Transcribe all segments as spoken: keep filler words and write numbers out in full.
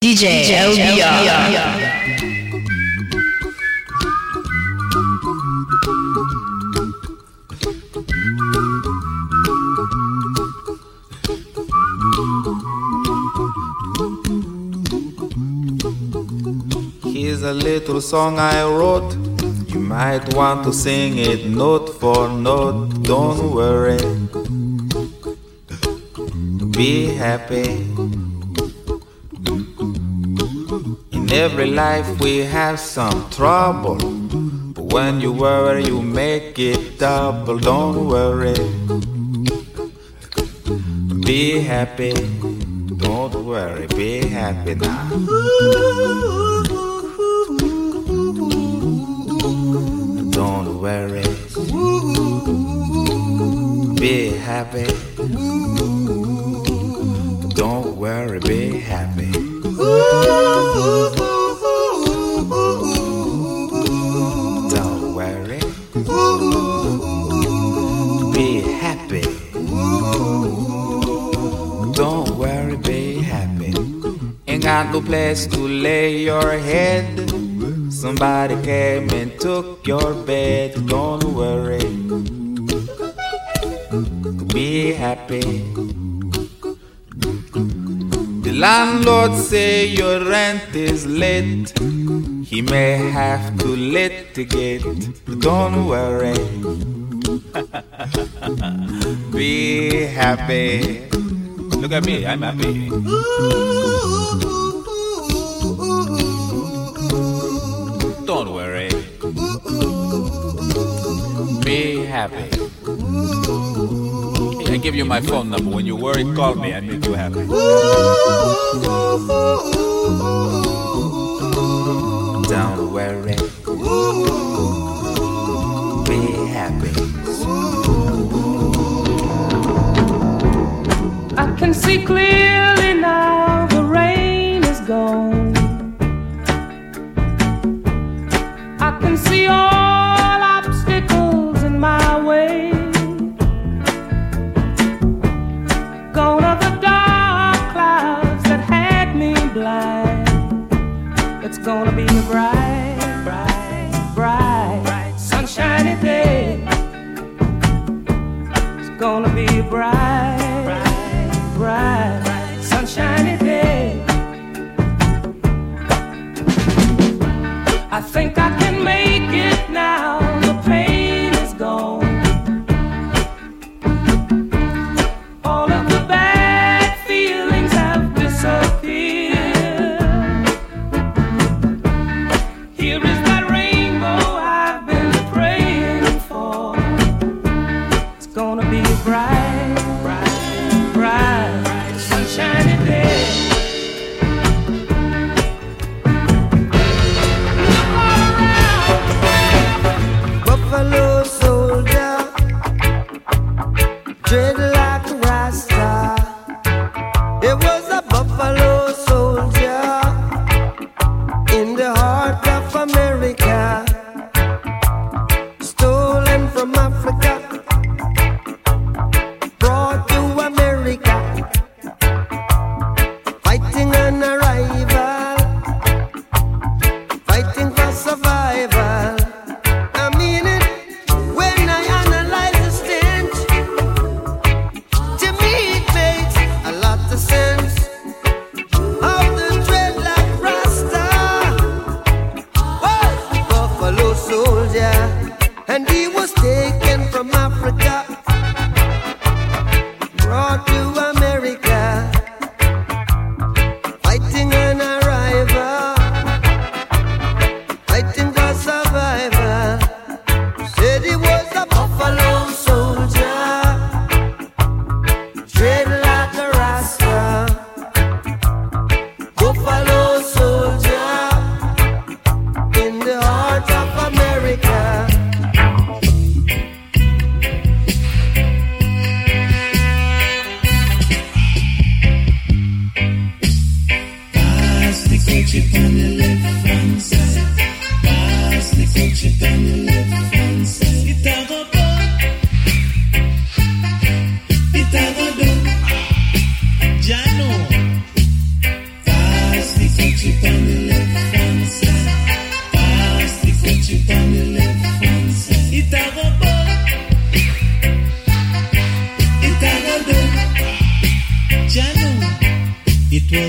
D J L B R. Here's a little song I wrote. You might want to sing it note for note. Don't worry, be happy. In every life we have some trouble, but when you worry you make it double. Don't worry, be happy. Don't worry, be happy now. Don't worry, be happy. Don't worry, be happy. Don't worry, be happy. Don't worry, be happy. Ain't got no place to lay your head. Somebody came and took your bed. Don't worry, be happy. The landlord say your rent is late. He may have to litigate. Don't worry, be happy. Look at me, I'm happy. Don't worry, be happy. I give you my phone number. When you worry, call me. I make you happy. Don't worry, be happy. I can see clearly now. The rain is gone. I can see all obstacles in my way. Gone are the dark clouds that had me blind. It's gonna be a bright, bright, bright, bright, sunshiny day. It's gonna be a bright, bright, bright, bright, sunshiny day. I think I can make it now. The pain is gone. All of the bad feelings have disappeared. Here is that rainbow I've been praying for. It's gonna be a bright, bright, bright, bright, sunshiny day. Buffalo soldier, dread like a Rasta. It was a buffalo soldier in the heart of America, stolen from Africa, brought to America, fighting an arrival, fighting for survival. I mean it when I analyze the stench. To me it makes a lot of sense. Of the dreadlock Rasta was the buffalo soldier, and he was taken from Africa, brought to America, fighting an arrival, fighting for survival. Said he was a buffalo soldier, dread like a Rasta. Buffalo soldier in the heart of America. Pass the coach on the left hand side. Pass the coach on the left hand side. It a go go. It a go do. Jano. Pass the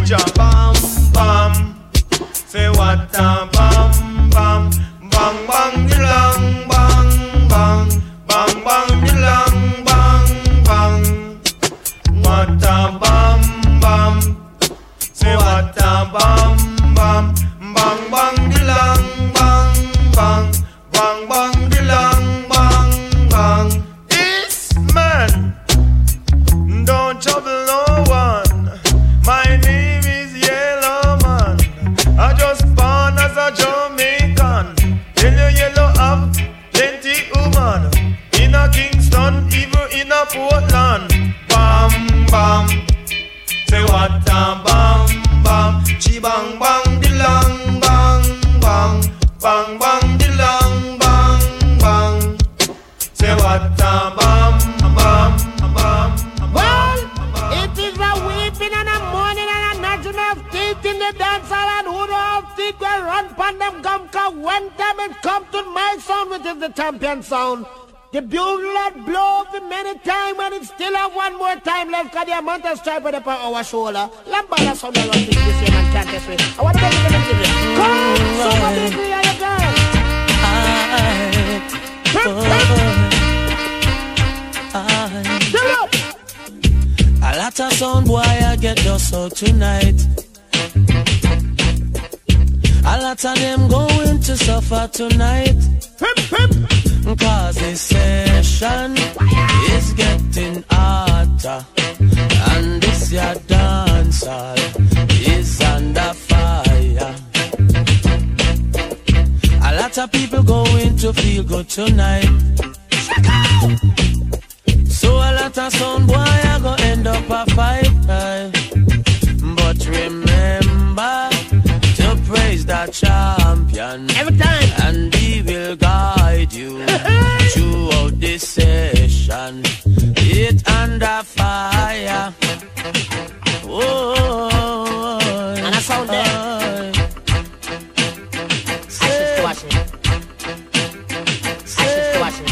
Jah. Bam, bam. Say what a bam, bam. Bang, bang, dilang, bang, bang. Bang, bang, dilang, bang, bang. What a bam, bam. Say what a bam, bam. Bang, bang, dilang, bang, bang. Bang, bang, dilang, bang, bang. It's man. Don't trouble no one. My name is Yellow Man. I just born as a Jamaican. Yellow, yellow have plenty woman. In a Kingston, even in a Portland. Bam, bam. Say what a bam, bam. Chi bang, bang, dilang, bang, bang. Bang, bang, dilang, bang, bang. Say what a bam, bam, bam. Well, it is a weeping and a mourning and a gnashing of teeth in the dance hall, and who don't have teeth will run pon them gum, cause one time it come to my sound, which is the champion sound. The bugle that blow for many times, and it still have one more time left, cause the amount of stripe on our shoulder. Lambada sound that run this year and can't this way. I want to make it into this. Come, somebody agree on your girl. A lot of sound boy I get just out tonight. A lot of them going to suffer tonight. Cause this session is getting hotter, and this your dancer is under fire. A lot of people going to feel good tonight. So a lot of sound boy I go end up a fight, right? But remember to praise the champion every time, and he will guide you throughout this session. It under fire. Oh, and I sound there. Ashes to ashes. Ashes to ashes.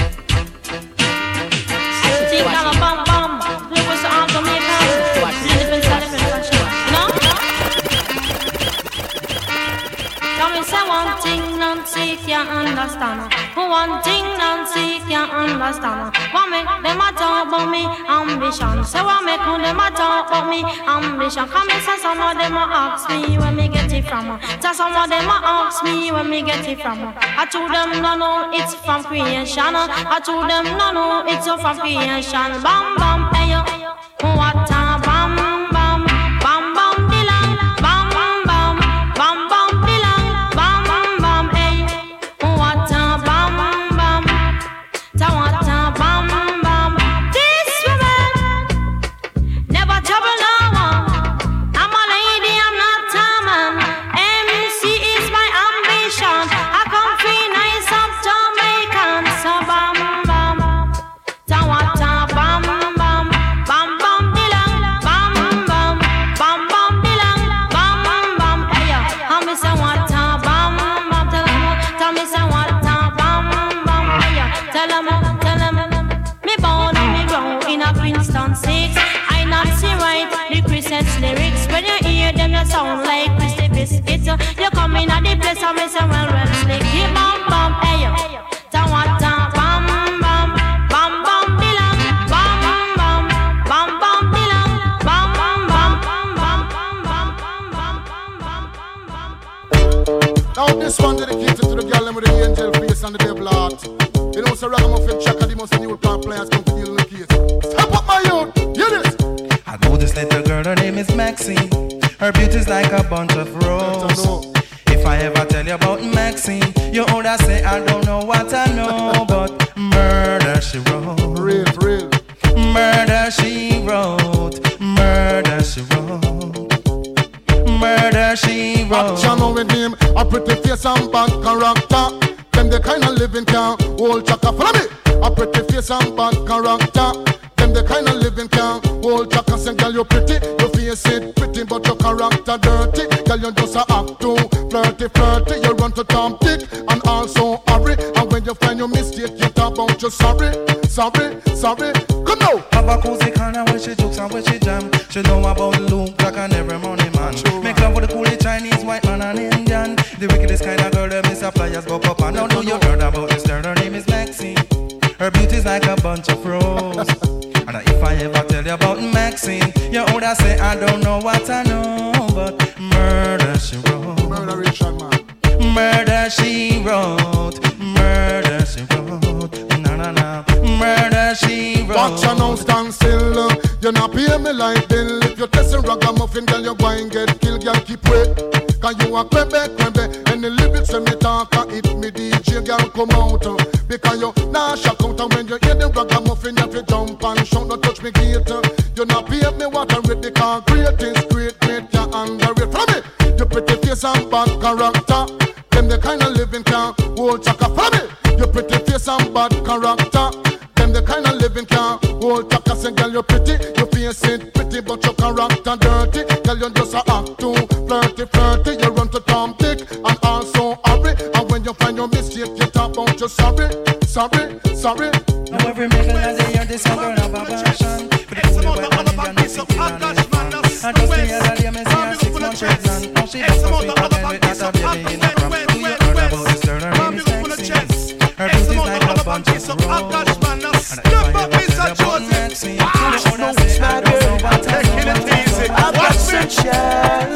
One thing Nancy can't understand. One thing Nancy can't understand. What make them a talk about me ambition? Say what make them a talk about me ambition? Come and say some of them a ask me where me get it from. Say some of them a ask me where me get it from. I told them no no it's from creation. I told them no no it's from creation. Bam bam hey yo, what a bam bam bam bam dilang bam bam bam bam bam. Lyrics when you hear them, you sound like Christy Biscuits. You come in at the place and me say, well, well, slick. Keep bam, bam, hey, yo. Ta-wa-ta, bam, bam, bam, bam, bilang. Bam, bam, bam, bam, bilang. Bam, bam, bam, bam, bam, bam, bam, bam, bam, bam. Now this one dedicated to the girl with the angel face and the devil heart. You know, so Ragamuffin Chaka, the most new part players come to deal in the case. Step up my youth, hear this. I know this little girl, her name is Maxine. Her beauty's like a bunch of roses. If I ever tell you about Maxine, you older say I don't know what I know, but murder she wrote. Real, real. Murder she wrote. Murder she wrote. Murder she wrote. Action with him, a pretty face and bad character. Them the kind of living can hold Chaka. Follow me. A pretty face and bad character. Them Them the kind of living can hold Jack and say, girl, you pretty. Your face it pretty, but your character dirty. Girl, you just a act too flirty, flirty. You run to Tom Dick and also hurry. And when you find your mistake, you talk about you sorry, sorry, sorry. Come now. Have a cozy corner where she jokes and where she jam. She know about Luke, Jack and every money man. True, make love with the coolie Chinese, white man and Indian. The wickedest kind of girl, them is a flyers go up and down. Know you heard about this girl, her name is Maxine. Her beauty's like a bunch of roses. And if I ever tell you about Maxine, you would say I don't know what I know, but murder she wrote. Murder Richard, man. Murder she wrote. Murder she wrote. Na na na. Murder she wrote. Watch her now stand still. You not pay me like bill. If you're testing ragamuffin, girl, you go and get killed. Girl, keep wait. Cause you a crebe, crebe. And the lyrics when me talk and hit me D J, girl, come out. Because you nah shock out. And when you hear the ragamuffin, you have to jump and shout. Don't touch me gate. You not pay me what I'm ready. Cause great is great, great, you underrate. From me, you pretty face and bad character. Them the kind of living can hold chaka. From me, you pretty face and bad character. Them the kind of living can hold chaka. Say, girl, you pretty. You face it pretty, but your character dirty. Girl, you just a act too flirty, flirty. You run to Tom Dick and also hurry. And when you find your mistake, you talk about you sorry, sorry, sorry. Now every mingle as they hear this song, girl, have a version. But the only way one Indian is sitting on his fan. And just the other day, me see her six months pregnant. Now she just so sweet again with that baby in the crop. Do you heard about this girl? Her name is Maxine. Her beauty's like a bunch of roses. And if I ever tell you about Maxine, you would say I don't know what I know. I've got sunshine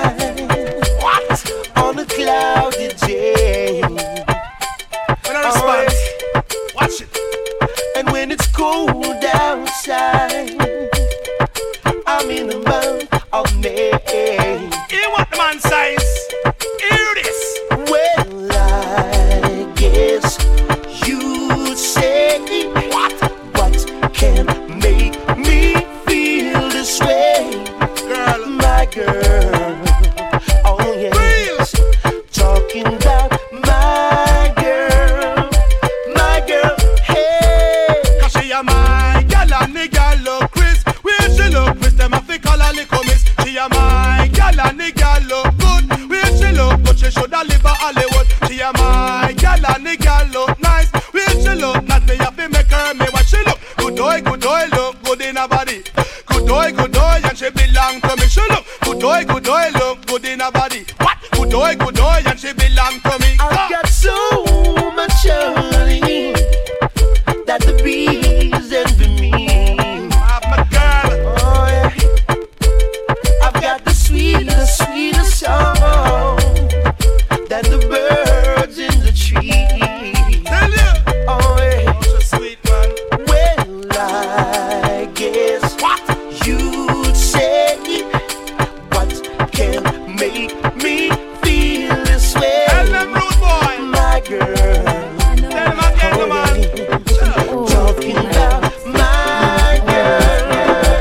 on a cloudy day. When I respond, watch it. And when it's cold outside, I'm in the month of May. Hear what the man says. Hear this. Well, I guess you'd say what? What can make me feel this way? Girl, my girl. Oh yes. Real. Talking about my girl, my girl. Hey. Cause she a my gal and the gal look Chris. Where she look Chris, them have to call her little miss. She a my gal and the gal look good. Where she look good, she shoulda live a Hollywood. She a my gal and the gal look nice. Where she look not me have to make her me what she look. Good boy, good boy, look good in her body. Good boy, good boy, and she belong to me. She look good boy, good boy, look good in her body. What? Good boy, good boy, and she belong to me. I've got so much honey that the bees envy me. I'm a girl. Oh yeah. I've got the sweetest, sweetest song that the birds in the tree. Tell you. Oh yeah. Oh, so sweet, man. Well, I guess What? you'd say what can make me feel this way. Tell them, rude boy. My girl. Tell them again, man. Talking about my girl.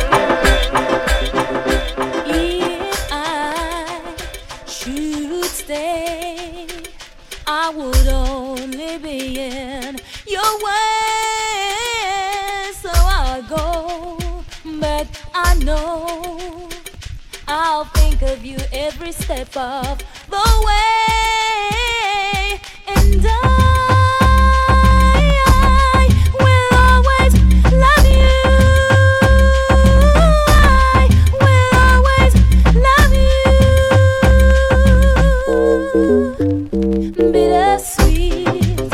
If I should stay, I would only be in your way. So I'll go, but I know I'll think of you every step of the way. And I, I will always love you. I will always love you. Bittersweet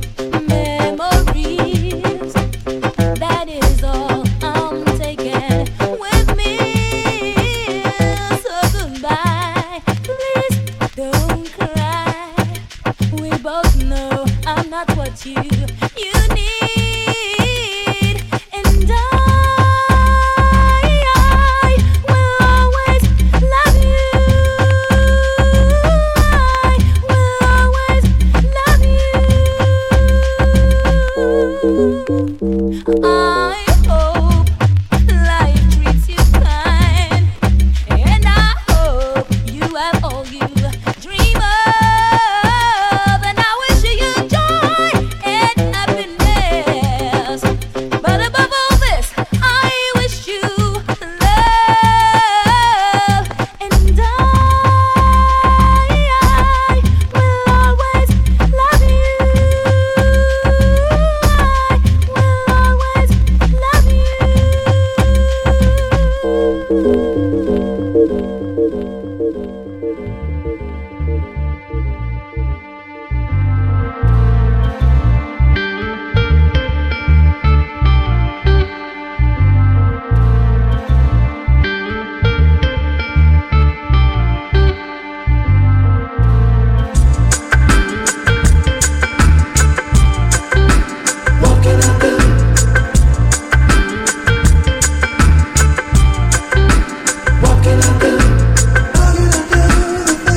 memories, that is all I'm taking with me. So goodbye, please don't cry. We both know I'm not what you you need, and I, I will always love you. I will always love you. I hope life treats you kind, and I hope you have all you dream of, and I wish you joy and Walking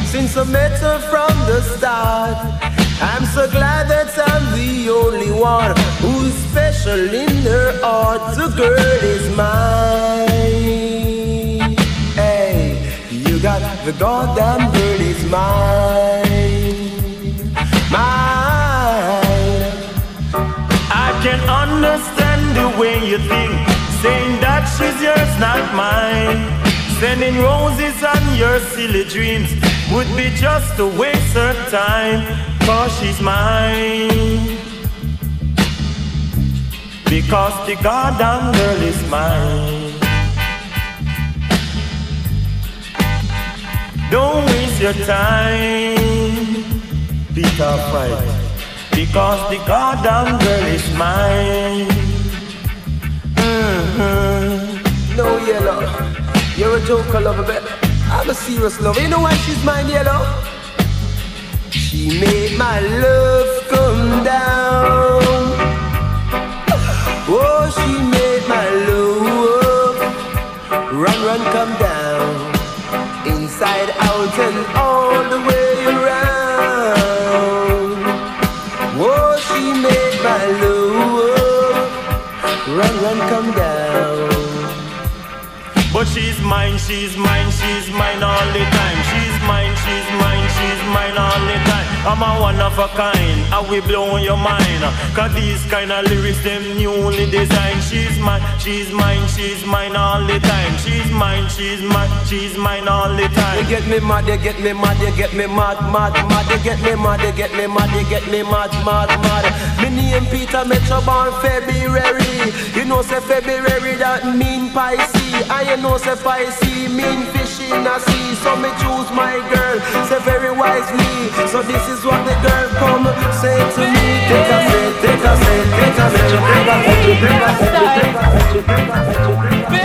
since I met her from the start. I'm so glad that I'm the only one who's special in her heart. The girl is mine. Hey, you got the goddamn girl is mine. Mine. I can understand the way you think, saying that she's yours, not mine. Sending roses on your silly dreams would be just a waste of time, cause she's mine. Because the goddamn girl is mine. Don't waste your time, Peter Fright. Because the goddamn girl is mine. Mm-hmm. No, Yellow, you're a joker, lover, but I'm a serious lover. You know why she's mine, Yellow? She made my love come down. Oh, she made my love run, run, come down. Inside, out, and all the way around. Oh, she made my love run, run, come down. But she's mine, she's mine, she's mine all the time. She's mine, she's mine, she's mine all the time. I'm a one of a kind, I will blow your mind. Cause these kind of lyrics, them newly designed. She's mine, she's mine, she's mine all the time. She's mine, she's mine, she's mine all the time. You get me mad, you get me mad, you get me mad, mad, mad. You get me mad, you get me mad, you get me mad, mad, mad. Me name Peter Metro born February. You know say February that mean Pisces. And you know say Pisces mean fish in a sea. So me choose my girl, say very wisely. So this is what the girl come say to me. Take a say, take a say, take a say, take a say, take a say, take a say, take a say.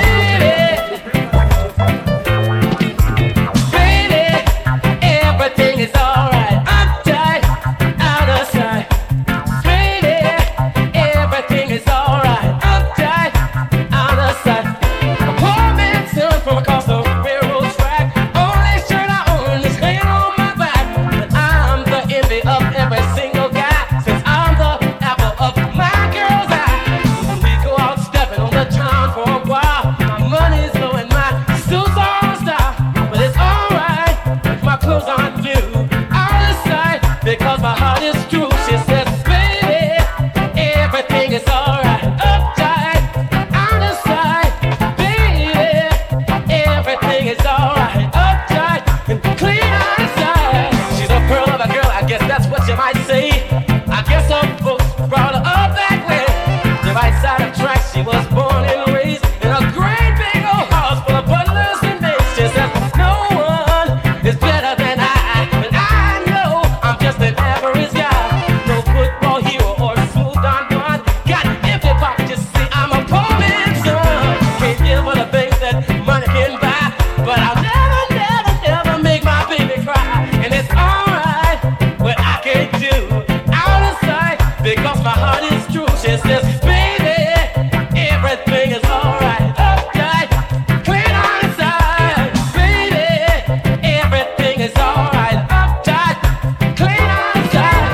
Everything is alright, uptight, out of sight. Baby, everything is alright, uptight, out of sight. A poor man's son from across the railroad track. Only shirt I own is hanging on my back. But I'm the envy of every single guy, since I'm the apple of my girl's eye. When we go out stepping on the town for a while, my money's low and my suits are on style. But it's alright, my clothes aren't new, out of sight, because my heart is true. She says, baby, everything is alright, uptight, out of sight. Baby, everything is alright, uptight, and clean outside. She's a pearl of a girl, I guess that's what you might say. I guess some folks brought her up that way. The right side of tracks, she was born and raised in a great big old house full of butlers and maids. She says, no one is better than I, but I know I'm just an average guy. No football hero or smooth Don Juan. Got empty pockets, you see, I'm a poor man's son. Can't give her the things that money can buy, but I'll never, never, never make my baby cry. And it's alright what I can do, out of sight, because my heart is true. She says, baby, everything is alright, uptight, clean on inside. Baby, everything is alright, uptight, clean on inside.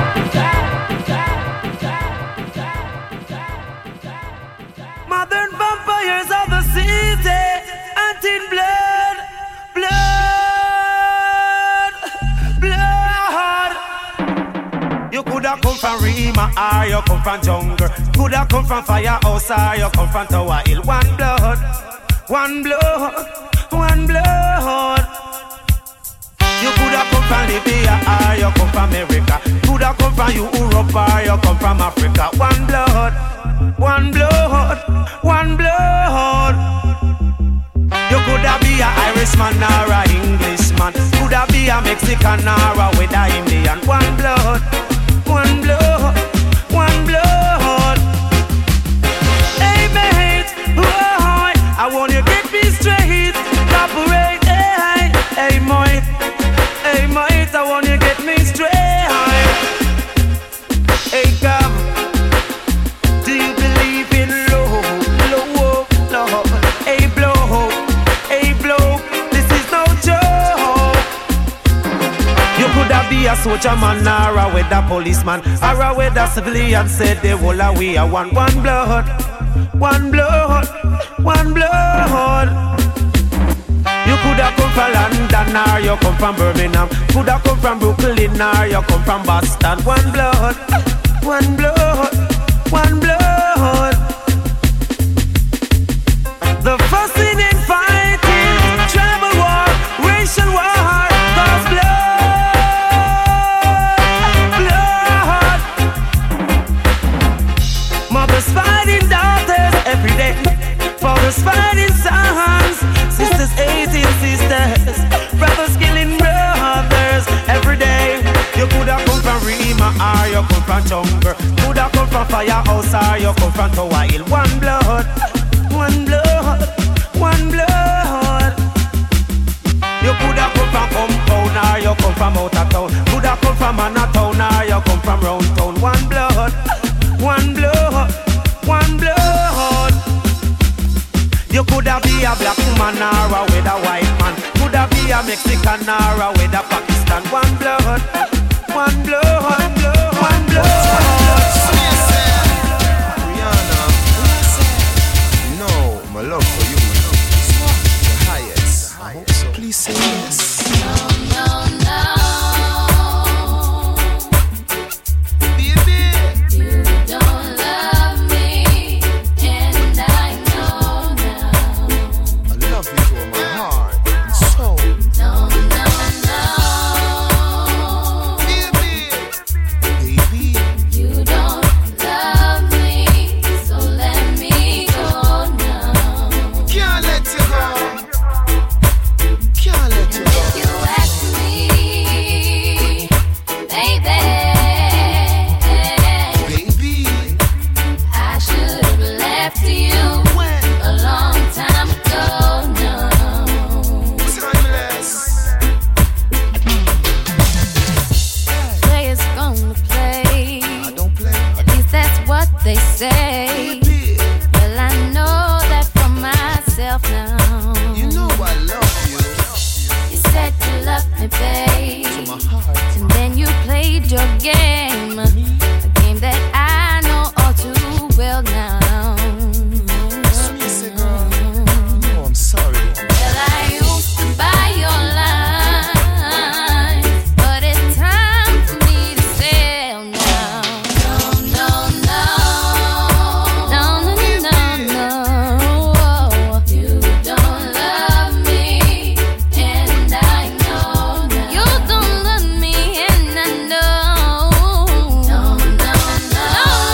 Modern vampires of the city, hunting blood, blood, blood. You coulda come from Rima or you come from jungle. Coulda come from firehouse or you come from Tower Hill. One blood, one blood, one blood. You coulda come from Libya or you come from America. Coulda come from Europe or you come from Africa. One blood, one blood, one blood. You coulda be a Irishman or a Englishman. Coulda be a Mexican or a with a Indian. One blood, one blood, one blood. Hey mate, boy, I want you get me straight, cooperate. Hey, hey mate, hey mate, I want you get me straight. Hey come, do you believe in love, love, love? Hey blow, hey blow, this is no joke. You could have be a soldier man or a weather policeman or a weather civilian. Said they will we are one, one blood, one blood, one blood. You could have come from London or you come from Birmingham. Could have come from Brooklyn or you come from Boston. One blood, one blood, one blood. The fussing and fighting, tribal war, racial war, cause blood, blood. Mothers fighting daughters every day. Fathers fighting sons, sisters hating sisters, brothers killing brothers every day. You could have come from Rima or you come from Jungle. Could have come from Firehouse or you come from Tower Hill. One blood, one blood, one blood. You could have come from Compound or you come from Outer Town. Could have come from Manhattan or you come from Round Town. One blood, one blood, one blood. You could have be a black woman or a with a white man. Could have be a Mexican or a with a Pakistan. One blood, one blood, one blood, one blood. Rihanna, no, my love for you, my love is the highest. I hope so. Please say yes. No, no, no. Baby, you don't love me, and I know now. I love you to my heart and soul. No, no, no. Baby, baby, You don't love me, so let me go now. can't let you go. Can't let you go. You ask me, baby, Baby, I should have left you when a long time ago now. timeless. Players gonna play, I don't play. at least that's what they say. Baby, Well, I know that for myself now. you know I love you. You said you loved me, babe, To my heart. and then you played your game, a game that I know all too well now. Sweet say, girl. Oh, I'm sorry. Well, I used to buy your lines, but it's time for me to sell now. No, no, no. No, no, no, no, no. You don't love me, and I know now. You don't love me, and I know. No, no, no.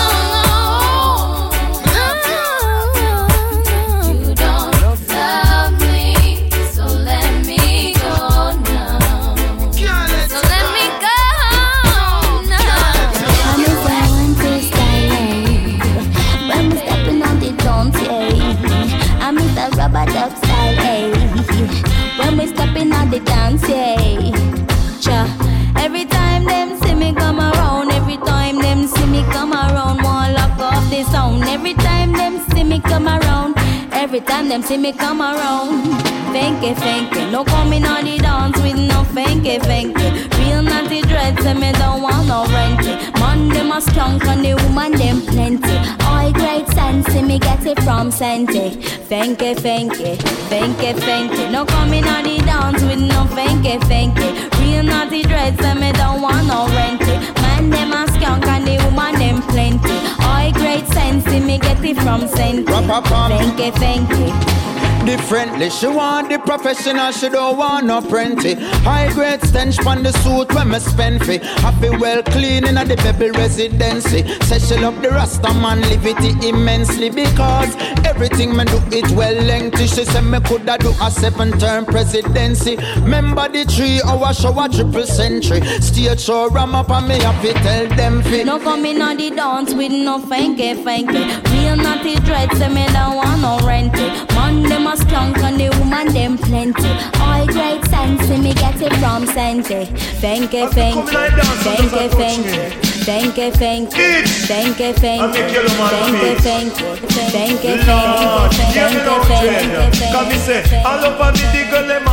You don't love me, so let me go now. Can't let So you let me go now. I'm a one to style. When we stepping on the dance, yeah. I'm with a rubber duck style, eh. When we stepping on the dance, yeah. Cha. Every time them see me come around, every time them see me come around, won't lock off the sound. Every time them see me come around, every time them see me come around. Fanky, fanky, no coming on the dance with no fanky, fanky. Real naughty dreads and me don't want no renty. Man them a skunk and the woman them plenty. All great sense, me get it from Senti. Fanky, fanky, fanky, fanky. No coming on the dance with no fanky, fanky. Real naughty dreads and me don't want no renty. Man them a skunk and the woman them plenty. All great sense, me get it from Senti. Fanky, fanky. Differently, she want the professional, she don't want no prenty. High grade stench on the suit when me spend fee. Happy well clean in the Bebel residency. Say she love the Rasta man, live it immensely. Because everything me do it well lengthy. She said me coulda do a seven term presidency. Remember the three hour show a triple century. Stage show ram up and me have to tell them fi. No coming on the dance with no fanky, fanky. Real naughty dreads, say me don't want no renty. Man them a skunk and the woman them plenty. All great sense, me get it from Senti. Fanky, fanky, fanky, fanky, fanky, fanky, fanky, fanky, fanky, fanky, fanky, fanky, Lord, you know, Come me say, all over me the girl them all over.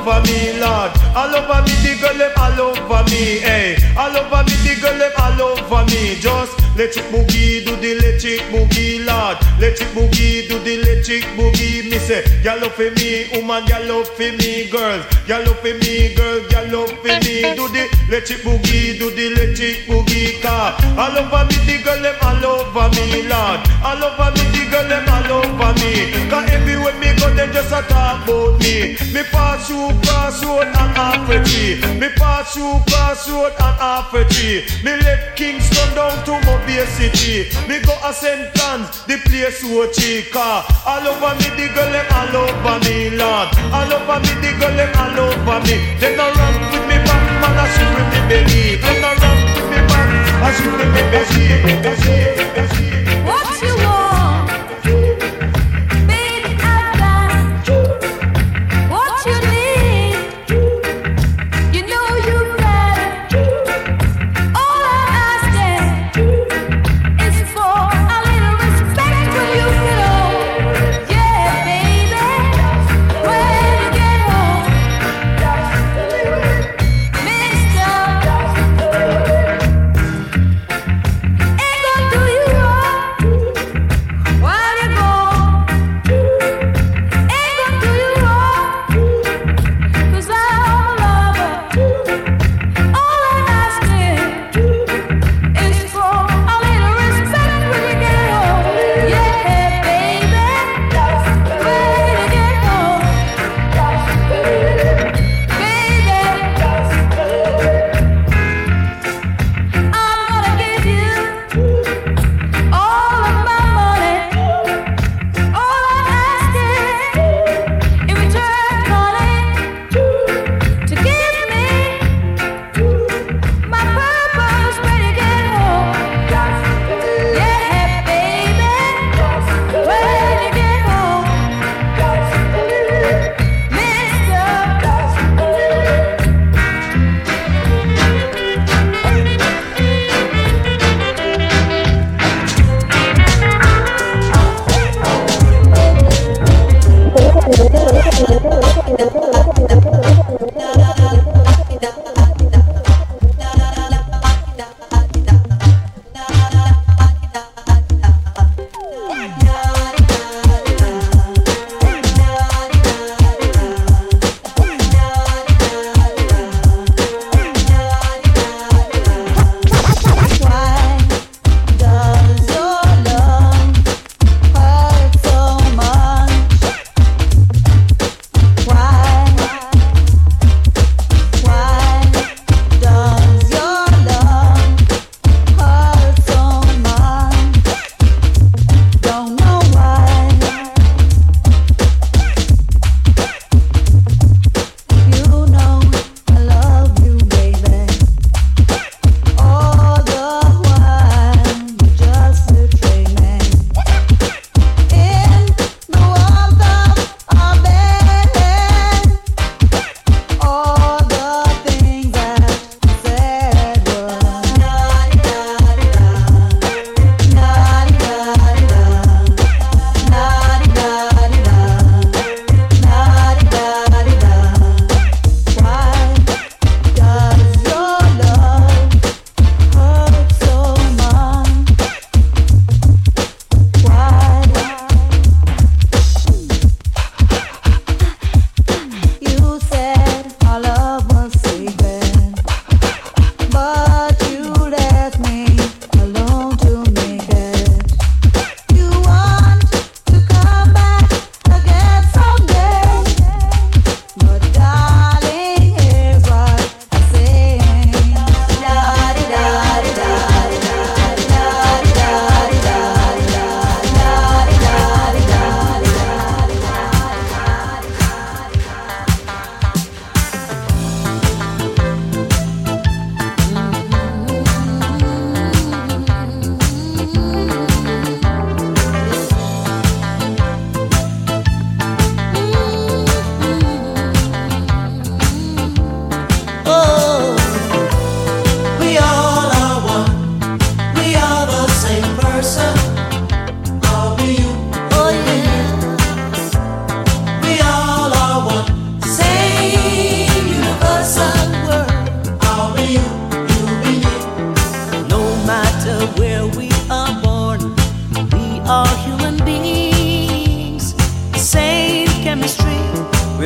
over me, Lord. All over me, the girl them all over me, hey. All over me, the girl them all over me. Just let it boogie, do the electric boogie, Lord. Let it boogie, do the electric boogie. Me say, y'all love for me, woman, y'all love for me, girls. Y'all love for me, girl, y'all love for me. Do the electric boogie, do the electric boogie, car. All over me, the girl them all over me, Lord. All over me, the girl them all over me. Cause everywhere me go, them just a talk about me. Me pass through crossroad and half a tree. Me pass through crossroad and half a tree. Me left Kingston down to Mobile City. Me go a Saint John's, the place so cheap. All over me, the girl them all over me, Lord. All over me, the girl them all over me. They no run with me back, man, I shoot with me belly. They no run with me back, I shoot with me belly. What you want, baby, I got what you need. You know you got it. All I'm asking is for a little respect when you get home. Yeah, baby, when you get home, Mister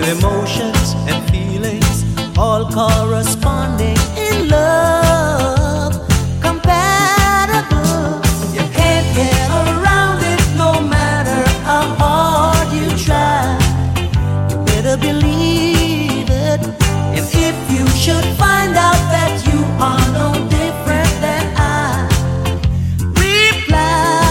emotions and feelings all corresponding in love, compatible. You can't get around it no matter how hard you try. You better believe it. And if you should find out that you are no different than I, reply.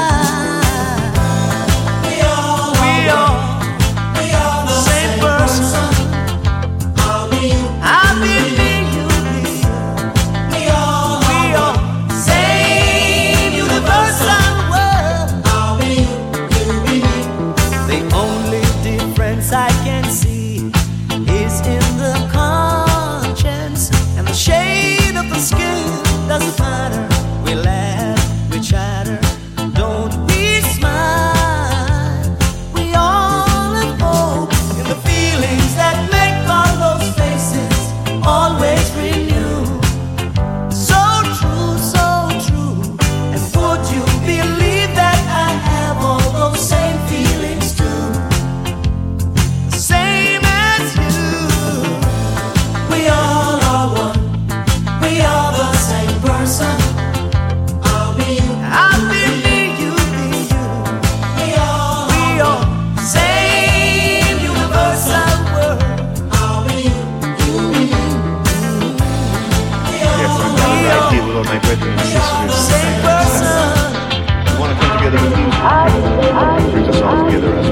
We all we are, we are the same person. I'll be you, I'll be me, you be you. We all we are same universal world. I'll be you, you be me. The only difference I can see is in the conscience and the shade of the skin. Doesn't matter. We laugh, we chatter, don't we smile? We all have hope in the feelings that make all those faces always renew. So true, so true. And would you believe that I have all those same feelings too? The same as you. We all are one. We are the same person. I'll be you, I'll be me, you be you. We all, we all same universal world. I'll be you, you be you. Yes, I'm glad I deal with all my brethren and sisters. Same person. We want to come together with music. It brings us all together as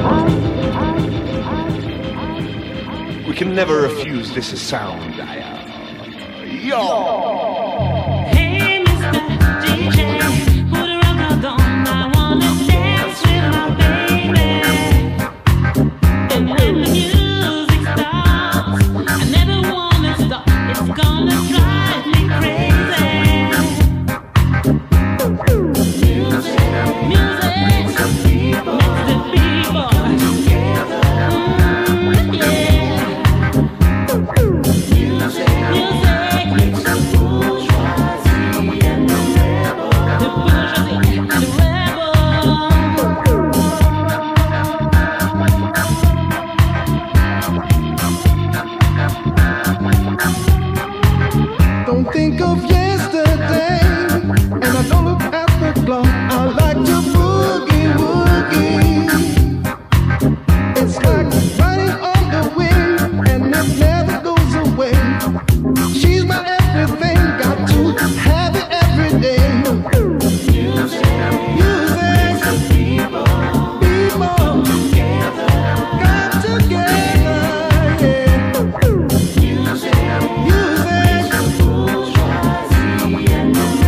one. We can never refuse this is sound. Yo! Hey, Mister D J, put a record on. I wanna dance with my baby. And when the music stops, I never wanna stop. It's gonna drive me crazy. Music, music, makes the people together. Mm, yeah. Music, music makes the bourgeoisie and the rebel, the bourgeoisie and the Don't think of yesterday, and I don't look at the clock. I like to boogie woogie. It's like riding on the wind, and it never goes away. She's my everything, got to have it every day. Music, music, people, people together, got together, yeah. Music, music, bourgeoisie and the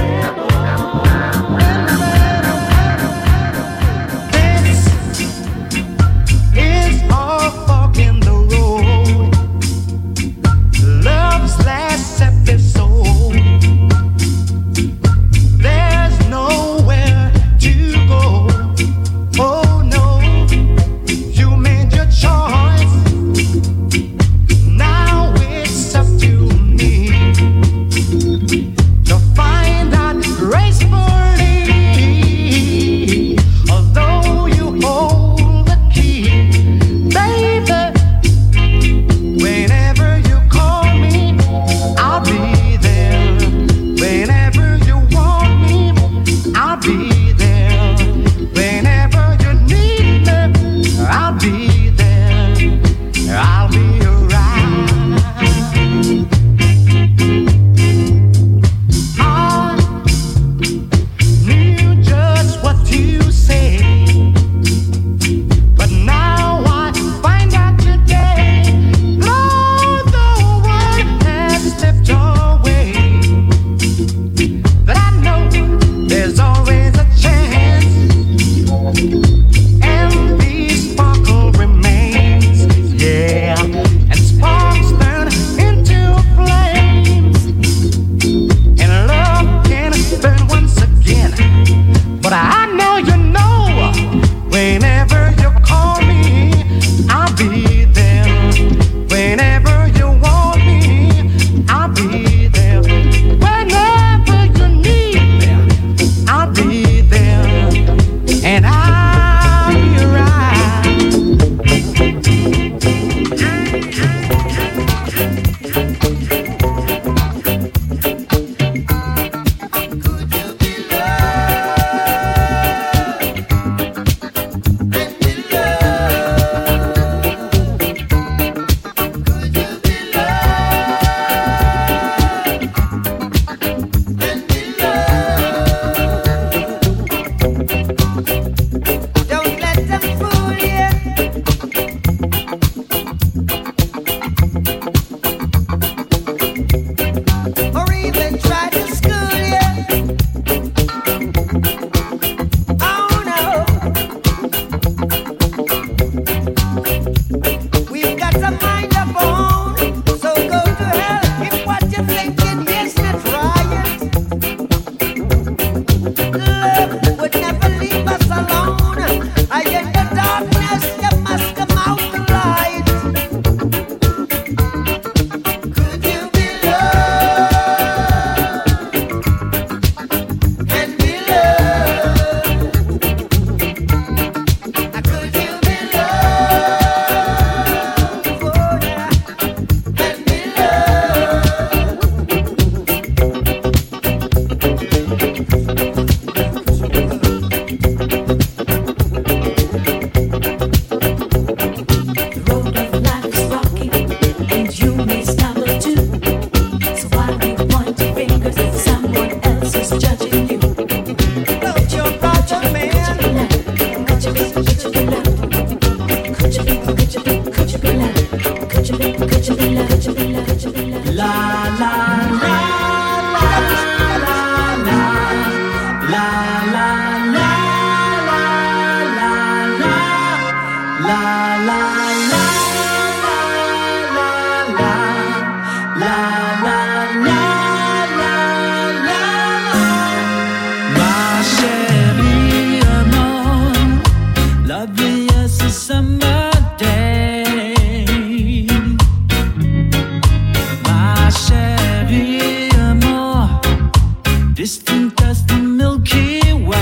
distant as the Milky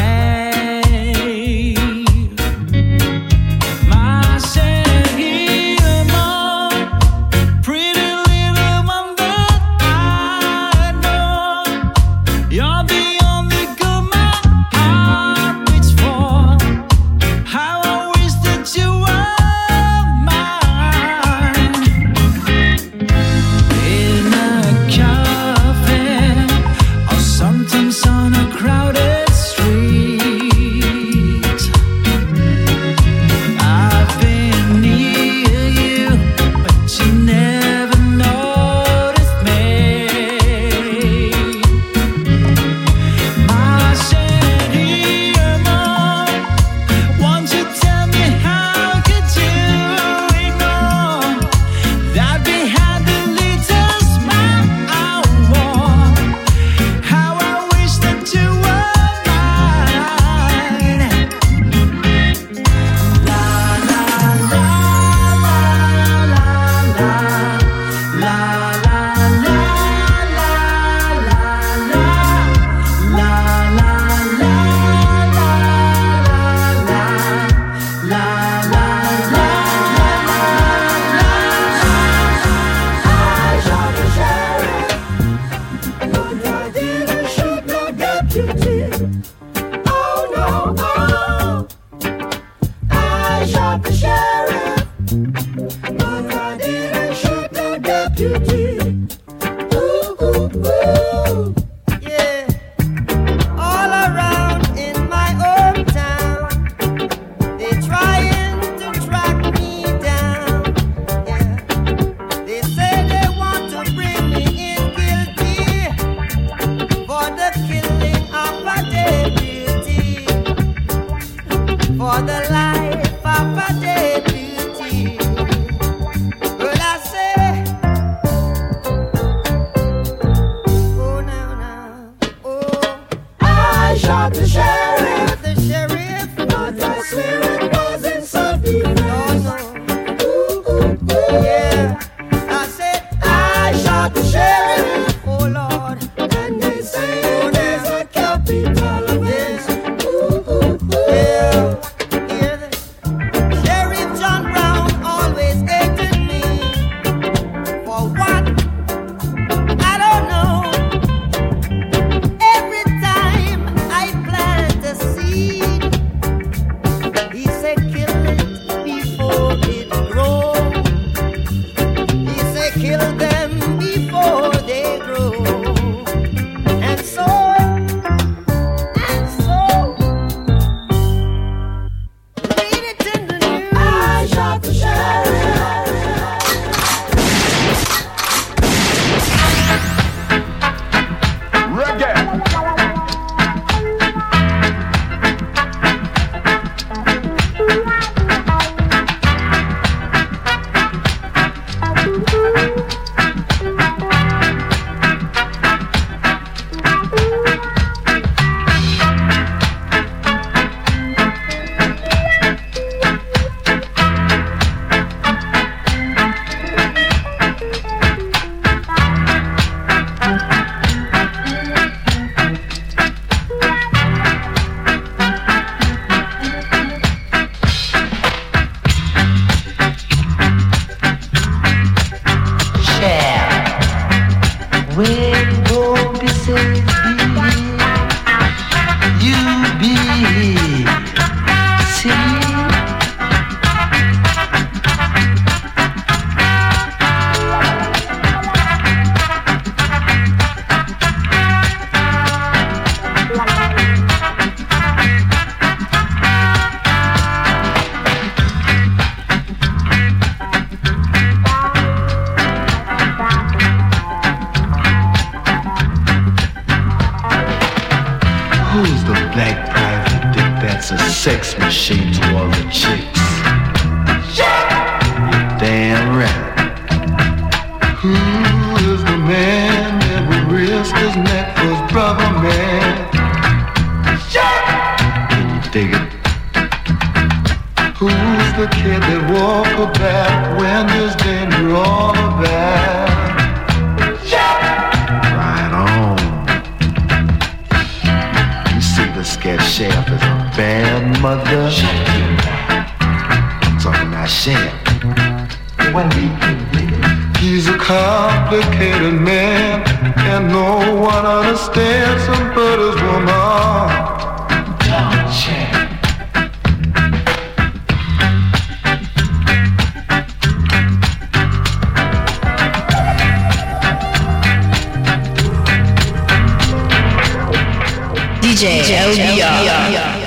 Way. My Shahima, pretty little one that I know. You're the only girl my heart beats for. How I wish that you were mine. In a cafe, or sometimes on a crowded street, I've been near you, but you never noticed me. My Shahima, won't you tell me how could you ignore that behind the little smile I wore? How I wish that you were mine. La la la la la la la la la la la la la la la Yeah, all around in my hometown, they trying to track me down. Yeah, they say they want to bring me in guilty for the killing of a deputy, for the life of a deputy. Well, I say, oh now now, oh, I shot the sheriff, the sheriff, but I swear it wasn't self-defense. No, no, ooh, ooh, ooh, yeah. I said I shot the sheriff, oh Lord, and they say there's a capital offense. Ooh, ooh, ooh, yeah. Hear this? Sheriff John Brown always hated me. For what? I don't know. Every time I plant a seed, he said kill it before it grows. He said kill them before they grow. And so, and so, read it in the news. I shot the sheriff. When God beside thee, you be see. Who's the black private dick that's a sex machine to all the chicks? You're damn right. Who is the man that would risk his neck for his brother man? Can you dig it? Who's the kid that walk her back when there's danger all about? Right on. mother. Talking about shit. When we He's a complicated man, and no one understands him but his woman. Don't check. D J L B R.